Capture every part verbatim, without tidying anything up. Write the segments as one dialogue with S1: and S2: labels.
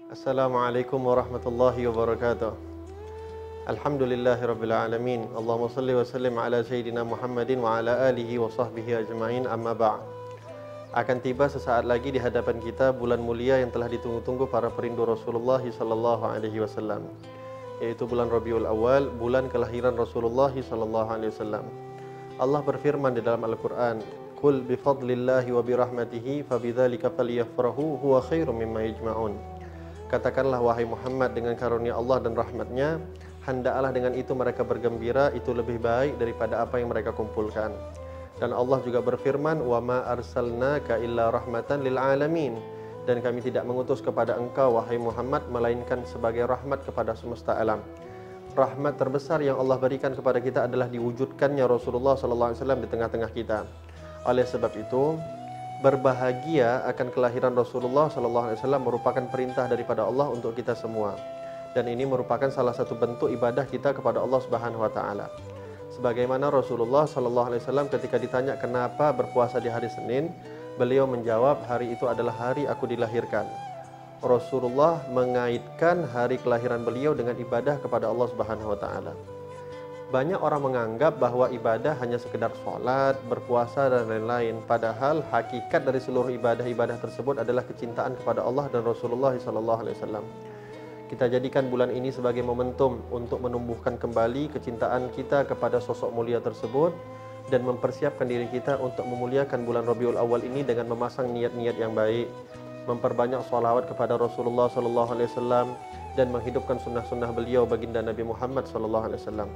S1: Assalamualaikum warahmatullahi wabarakatuh. Alhamdulillahirabbil alamin. Allahumma shalli wa sallim ala sayyidina Muhammadin wa ala alihi wa sahbihi ajma'in. Amma ba'd. Akan tiba sesaat lagi di hadapan kita bulan mulia yang telah ditunggu-tunggu para perindu Rasulullah sallallahu alaihi wasallam, yaitu bulan Rabiul Awal, bulan kelahiran Rasulullah sallallahu alaihi wasallam. Allah berfirman di dalam Al-Qur'an, "Qul bi fadlillahi wa bi rahmatihi fabidzalika falyafrahu huwa khairum mimma yajma'un." Katakanlah wahai Muhammad, dengan karunia Allah dan rahmatnya, hendaklah dengan itu mereka bergembira, itu lebih baik daripada apa yang mereka kumpulkan. Dan Allah juga berfirman, "Wa ma arsalnaka illa rahmatan lil alamin." Dan kami tidak mengutus kepada engkau wahai Muhammad melainkan sebagai rahmat kepada semesta alam. Rahmat terbesar yang Allah berikan kepada kita adalah diwujudkannya Rasulullah sallallahu alaihi wasallam di tengah-tengah kita. Oleh sebab itu, berbahagia akan kelahiran Rasulullah sallallahu alaihi wasallam merupakan perintah daripada Allah untuk kita semua. Dan ini merupakan salah satu bentuk ibadah kita kepada Allah Subhanahu wa taala. Sebagaimana Rasulullah sallallahu alaihi wasallam ketika ditanya kenapa berpuasa di hari Senin, beliau menjawab, hari itu adalah hari aku dilahirkan. Rasulullah mengaitkan hari kelahiran beliau dengan ibadah kepada Allah Subhanahu wa taala. Banyak orang menganggap bahwa ibadah hanya sekedar sholat, berpuasa, dan lain-lain. Padahal hakikat dari seluruh ibadah-ibadah tersebut adalah kecintaan kepada Allah dan Rasulullah sallallahu alaihi wasallam. Kita jadikan bulan ini sebagai momentum untuk menumbuhkan kembali kecintaan kita kepada sosok mulia tersebut dan mempersiapkan diri kita untuk memuliakan bulan Rabiul Awal ini dengan memasang niat-niat yang baik, memperbanyak sholawat kepada Rasulullah sallallahu alaihi wasallam, dan menghidupkan sunnah-sunnah beliau baginda Nabi Muhammad sallallahu alaihi wasallam,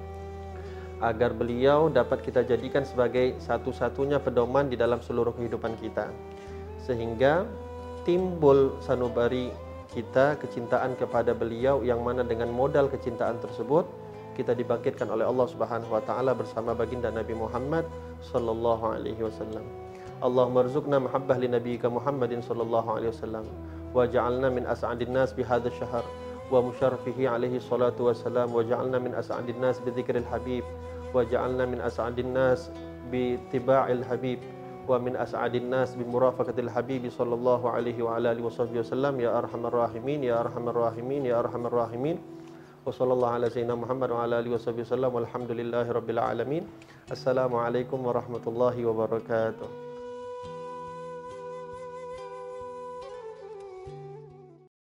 S1: agar beliau dapat kita jadikan sebagai satu-satunya pedoman di dalam seluruh kehidupan kita, sehingga timbul sanubari kita kecintaan kepada beliau, yang mana dengan modal kecintaan tersebut kita dibangkitkan oleh Allah Subhanahu wa taala bersama baginda Nabi Muhammad sallallahu alaihi wasallam. Allahumma rzuqna mahabbah li nabiyyika Muhammadin sallallahu alaihi wasallam wa ja'alna min as'adin nas bi hadzal syahr wa musyarrafihi alaihi salatu wassalam wa ja'alna min as'adin nas bi dzikril habib wa ja'alna min as'adin nas bi tiba'il habib wa min as'adin nas bi murafaqatil habib sallallahu alaihi wa ala alihi wasallam ya arhamar rahimin ya arhamar rahimin ya arhamar rahimin. Wa sallallahu ala sayyidina Muhammad wa ala alihi wasallam walhamdulillahi rabbil alamin. Assalamualaikum warahmatullahi wabarakatuh.